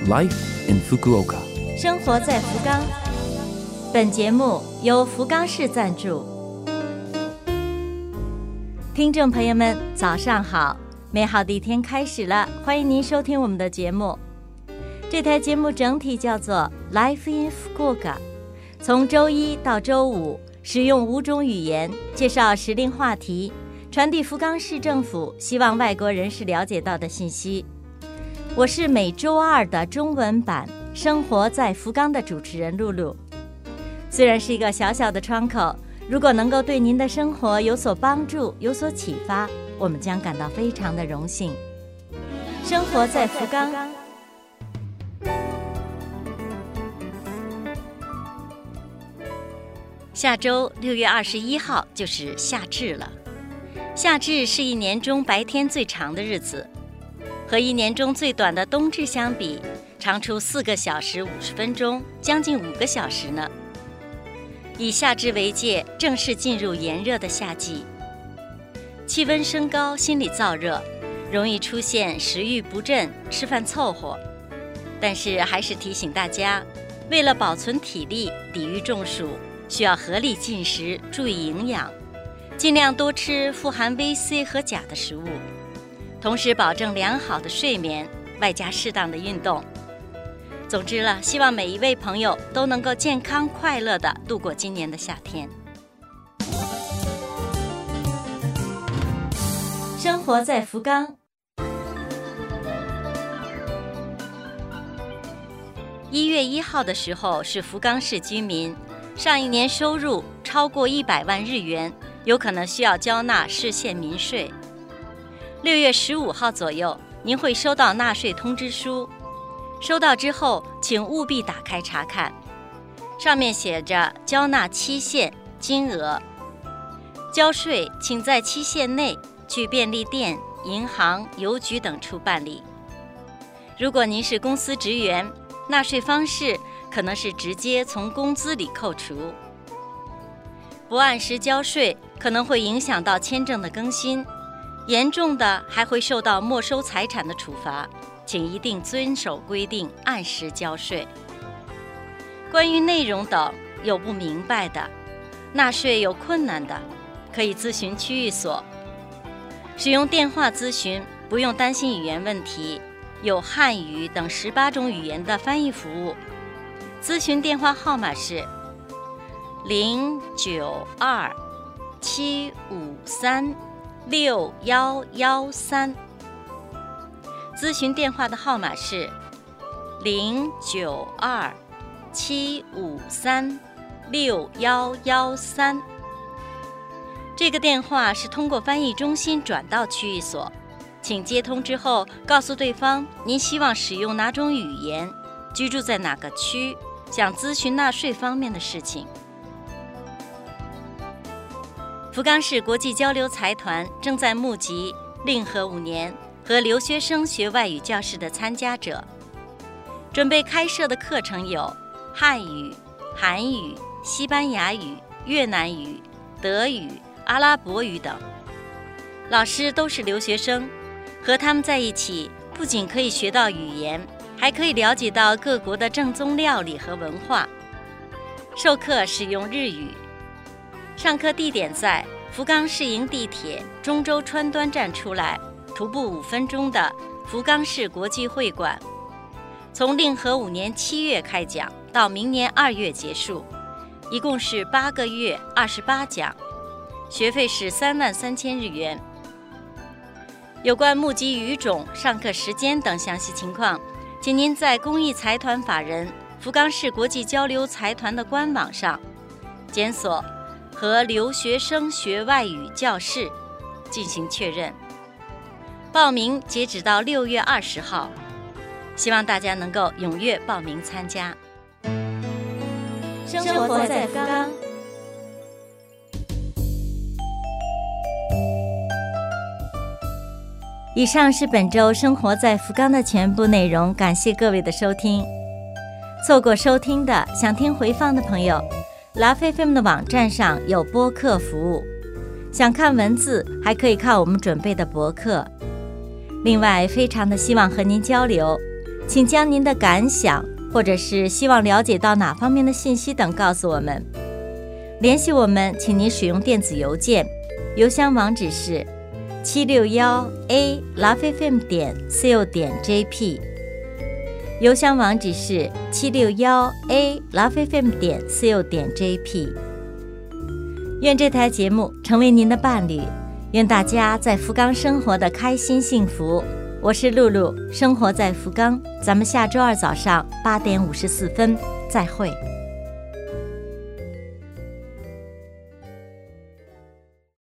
Life in Fukuoka， 生活在福冈。本节目由福冈市赞助。听众朋友们，早上好！美好的一天开始了，欢迎您收听我们的节目。这台节目整体叫做 Life in Fukuoka， 从周一到周五，使用5种语言介绍时令话题，传递福冈市政府希望外国人士了解到的信息。我是每周二的中文版《生活在福冈》的主持人露露。虽然是一个小小的窗口，如果能够对您的生活有所帮助、有所启发，我们将感到非常的荣幸。生活在福冈。下周6月21号就是夏至了。夏至是一年中白天最长的日子，和一年中最短的冬至相比，长出4个小时50分钟，将近5个小时呢。以夏至为界，正式进入炎热的夏季，气温升高，心理燥热，容易出现食欲不振、吃饭凑合。但是还是提醒大家，为了保存体力、抵御中暑，需要合理进食，注意营养，尽量多吃富含 VC 和钾的食物，同时保证良好的睡眠，外加适当的运动。总之了，希望每一位朋友都能够健康快乐地度过今年的夏天。生活在福冈。1月1号的时候是福冈市居民上一年收入超过100万日元，有可能需要交纳市县民税。6月15号左右，您会收到纳税通知书。收到之后，请务必打开查看，上面写着交纳期限、金额。交税请在期限内去便利店、银行、邮局等处办理。如果您是公司职员，纳税方式可能是直接从工资里扣除。不按时交税可能会影响到签证的更新，严重的还会受到没收财产的处罚，请一定遵守规定，按时交税。关于内容等有不明白的，纳税有困难的，可以咨询区域所。使用电话咨询，不用担心语言问题，有汉语等18种语言的翻译服务。咨询电话号码是092-753-6113。咨询电话的号码是092-753-6113。这个电话是通过翻译中心转到区域所，请接通之后告诉对方您希望使用哪种语言，居住在哪个区，想咨询纳税方面的事情。福冈市国际交流财团正在募集令和5年和留学生学外语教室的参加者，准备开设的课程有汉语、韩语、西班牙语、越南语、德语、阿拉伯语等。老师都是留学生，和他们在一起，不仅可以学到语言，还可以了解到各国的正宗料理和文化。授课使用日语。上课地点在福冈市营地铁中洲川端站出来，徒步5分钟的福冈市国际会馆。从令和5年7月开讲到明年2月结束，一共是8个月28讲，学费是33000日元。有关募集语种、上课时间等详细情况，请您在公益财团法人福冈市国际交流财团的官网上检索和留学生学外语教室进行确认。报名截止到6月20号，希望大家能够踊跃报名参加。生活在福冈。以上是本周生活在福冈的全部内容，感谢各位的收听。错过收听的，想听回放的朋友，LoveFM 的网站上有播客服务，想看文字还可以看我们准备的博客。另外非常的希望和您交流， 请将您的感想或者是希望了解到哪方面的信息等告诉我们。联系我们，请您使用电子邮件，邮箱网址是761a.lovefm.co.jp， 邮箱网址是761a.lovefm.co.jp。 愿这台节目成为您的伴侣，愿大家在福冈生活的开心幸福。我是露露，生活在福冈，咱们下周二早上8点54分再会。